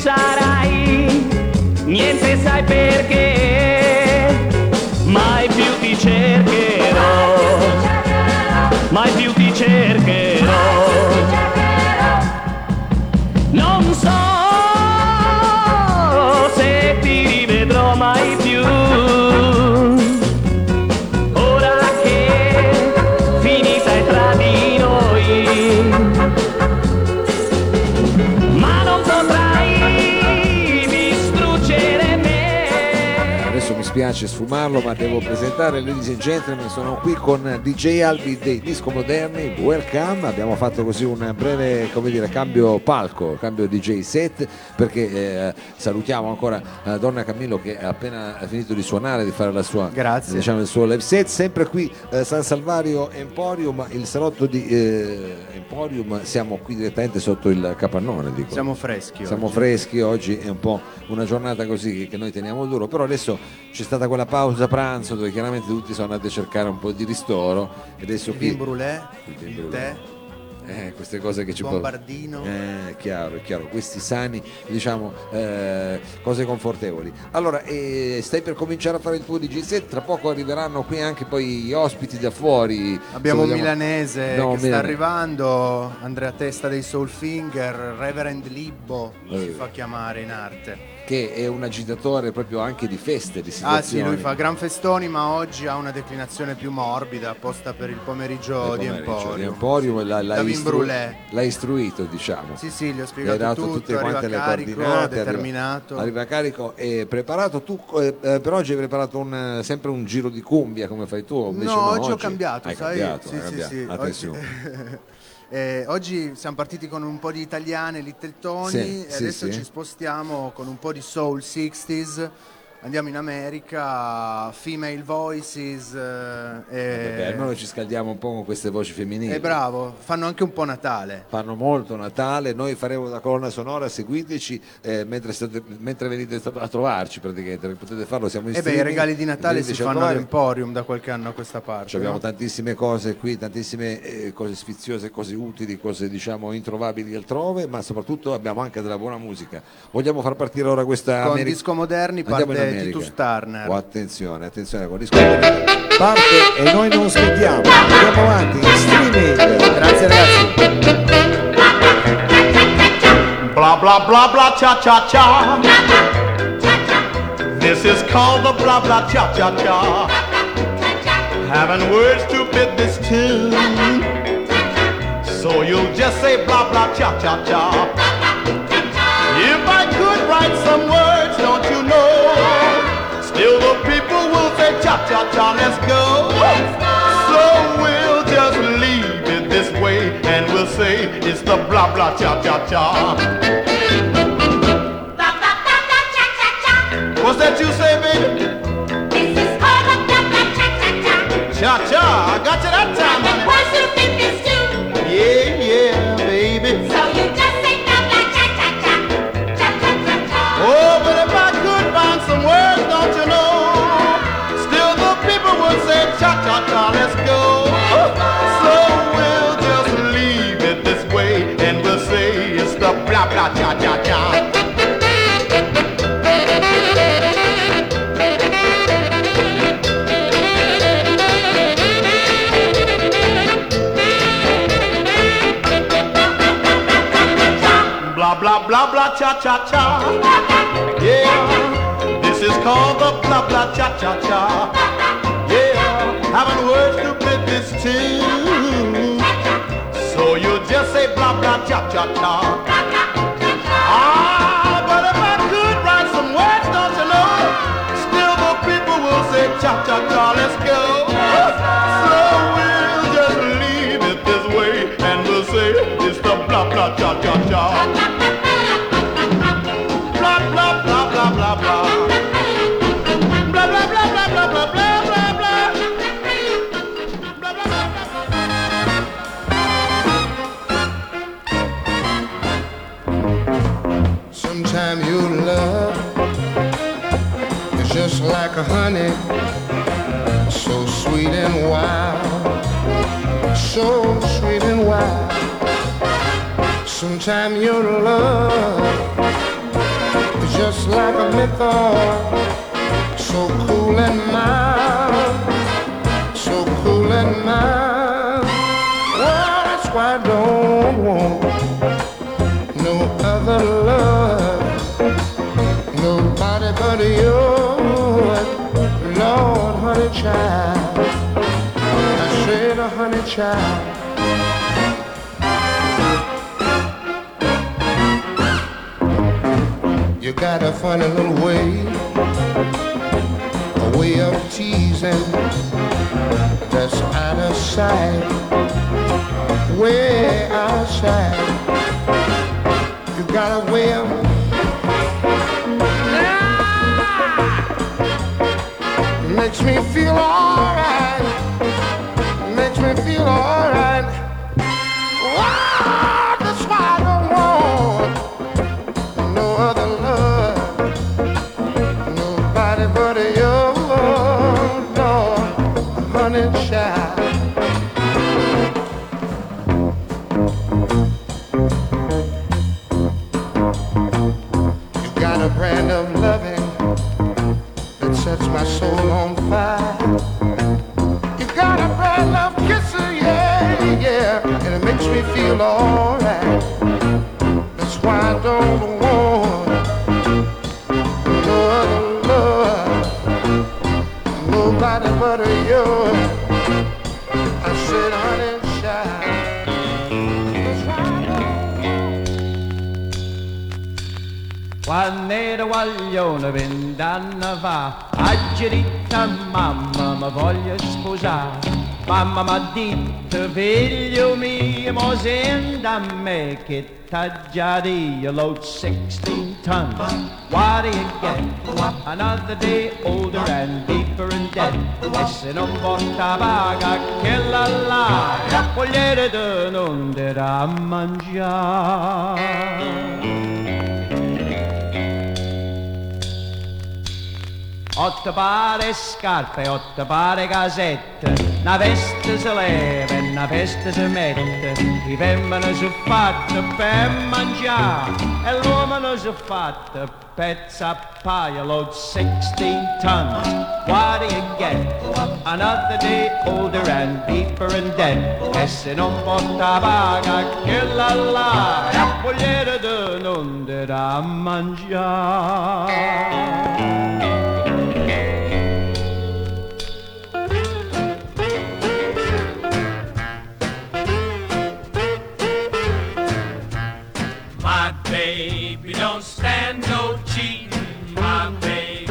sarai, niente sai perché, mai più ti cercherò, mai più ti cercherò. Non so se ti rivedrò mai più, ora che finita è tra di noi, ma non potrai distruggere me. Adesso mi spiace sfumarlo, ma devo presentare, ladies and gentlemen, sono qui con DJ Albi dei Disco Moderni. Welcome. Abbiamo fatto così un breve, come dire, cambio palco, cambio DJ set, perché salutiamo ancora Donna Camillo, che ha appena finito di suonare, di fare la sua, diciamo, il suo live set, sempre qui San Salvario Emporium, il salotto di Emporium. Siamo qui direttamente sotto il capannone, dico. Siamo freschi Oggi è un po' una giornata così che noi teniamo duro, però adesso c'è stata quella pausa pranzo dove chiaramente tutti sono andati a cercare un po' di ristoro, e adesso il qui vin brûlé, il tè, queste cose che ci bombardino, è chiaro, questi sani, diciamo, cose confortevoli. Allora, stai per cominciare a fare il tuo DJ set, tra poco arriveranno qui anche poi gli ospiti da fuori. Abbiamo un milanese che sta arrivando, Andrea Testa dei Soulfinger, Reverend Libbo si fa chiamare in arte, che è un agitatore proprio anche di feste, di situazioni. Sì, lui fa gran festoni, ma oggi ha una declinazione più morbida apposta per il pomeriggio di Emporium. L'ha istruito, diciamo. Sì, gli ho spiegato dato tutto, tutte quante le coordinate, determinato. Arriva carico e preparato. Tu per oggi hai preparato sempre un giro di cumbia come fai tu? No, oggi ho cambiato, hai sai? Cambiato. Sì. Attenzione. Oggi siamo partiti con un po' di italiane, Little Tony, e adesso ci spostiamo con un po' di soul 60s. Andiamo in America, Female Voices. Almeno ci scaldiamo un po' con queste voci femminili. Bravo, fanno anche un po' Natale. Fanno molto Natale, noi faremo una colonna sonora, seguiteci mentre venite a trovarci, praticamente potete farlo, siamo in streaming. I regali di Natale si fanno all'Emporium da qualche anno a questa parte. Abbiamo tantissime cose qui, tantissime cose sfiziose, cose utili, cose diciamo introvabili altrove, ma soprattutto abbiamo anche della buona musica. Vogliamo far partire ora questa con Disco Moderni, parte Titus Turner. Attenzione, con Disco Moderni parte e noi non aspettiamo, andiamo avanti in streaming. Grazie ragazzi. Blah blah blah blah cha cha cha. This is called the blah blah cha cha cha. Having words to fit this tune, so you'll just say blah blah cha cha cha. If I could write some words, don't you know, still the people will say cha-cha-cha, let's go. So we'll just leave it this way and we'll say it's the blah blah cha-cha-cha. What's that you say, baby? This is called the blah blah cha-cha-cha. Cha-cha, I got you that time, honey. Words to fit this tune. Yeah, baby. So you just say blah blah cha-cha-cha. Cha-cha-cha-cha. Oh, but if I could find some words, don't you know, still the people would say cha-cha-cha, let's go. So we'll just leave it this way and we'll say it's the blah blah cha-cha-cha. Blah blah blah blah cha cha cha. Yeah, this is called the blah blah cha cha cha. Yeah, having words to fit this tune, so you just say blah blah cha cha cha. Ah, but if I could write some words, don't you know, still the people will say cha cha cha, let's go. So we'll just leave it this way and we'll say it's the blah blah cha cha cha. Blah blah blah blah blah blah. Blah blah blah blah blah blah blah blah blah. Blah blah blah blah. Sometimes your love is just like a honey, so sweet and wild, so sweet and wild. Sometimes your love just like a mythos, so cool and mild, so cool and mild. Well, that's why I don't want no other love, nobody but yours, Lord, honey child. I said, honey child. You got a funny little way, a way of teasing that's out of sight, way outside. You got a way of makes me feel alright, makes me feel alright. Wow, that's why I don't want no other love, nobody but you, Lord, honey child. You got a brand of loving that sets my soul on fire. You got a brand of kissing, yeah, yeah, and it makes me feel alright. That's why I don't want no other love, nobody but you. I said, honey child. Quando ero guaglione 20 anni fa, oggi detta mamma mi voglio sposare. Mamma m'ha detto, figlio mio, mo senti a me che t'ha già detto, load 16 tons. What do you get? Another day older and deeper in debt. E se non porta paga che la vogliere te non darà a mangiare. 8 pare scarpe, 8 pare casette, una veste si leva e una veste si mette, i femmine si fatte per mangiare e l'uomo si fatte pezza a paio, load 16 tons. What do you get? Another day older and deeper in debt. E se non porta paga che la vogliere te non darà a mangiare. Baby, don't stand no cheating, my baby.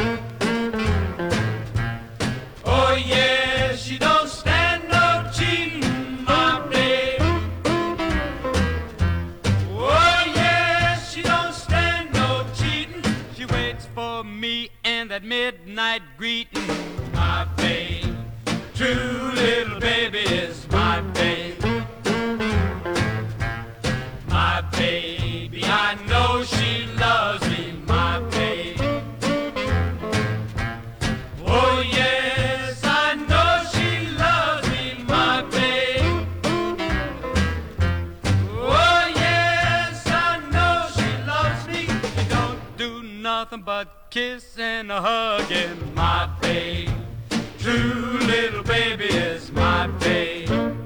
Oh yeah, she don't stand no cheating, my baby. Oh yeah, she don't stand no cheating. She waits for me in that midnight greeting, my baby. True little baby is my baby. My baby, I know she loves me, my baby. Oh yes, I know she loves me, my baby. Oh yes, I know she loves me. She don't do nothing but kiss and hugging, my baby. True little baby is my baby.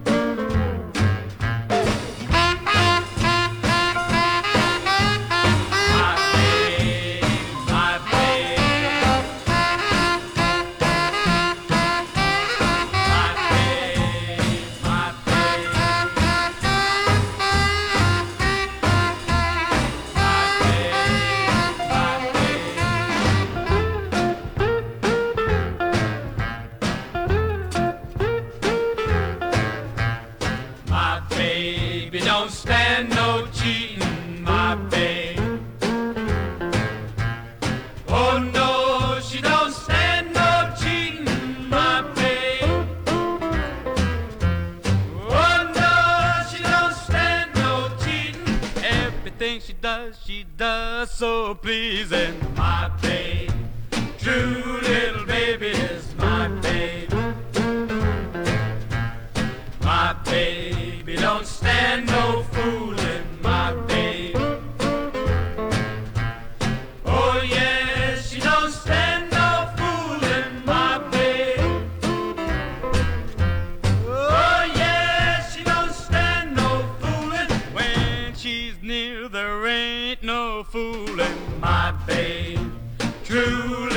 Don't stand no cheating, my babe. Oh no, she don't stand no cheating, my babe. Oh no, she don't stand no cheating. Everything she does so pleasing, my babe. True little baby is my babe. My baby don't stand no fooling, my baby. Oh yeah. with my babe. Truly